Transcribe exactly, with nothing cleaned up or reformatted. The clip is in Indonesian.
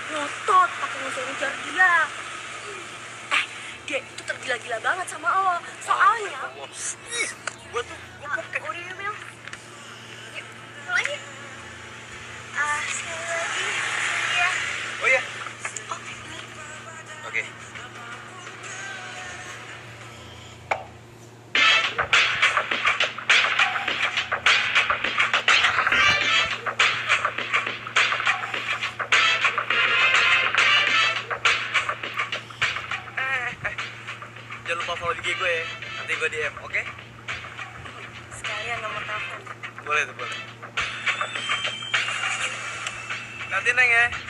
ngotot pakai ngejar-ngejar dia. Eh, dia itu tergila-gila banget sama lo. Soalnya, Ih, gua tuh gua ah, kayak udah yuk, Mel. Yuk, lagi. Ah, sekali lagi. Iya. oh iya. Oh, ini. Oke. Eh, eh. Jangan lupa follow I G gue ya. Nanti gue D M, oke? Sekalian nomor telepon. Boleh tuh, boleh. Nanti Neng ya.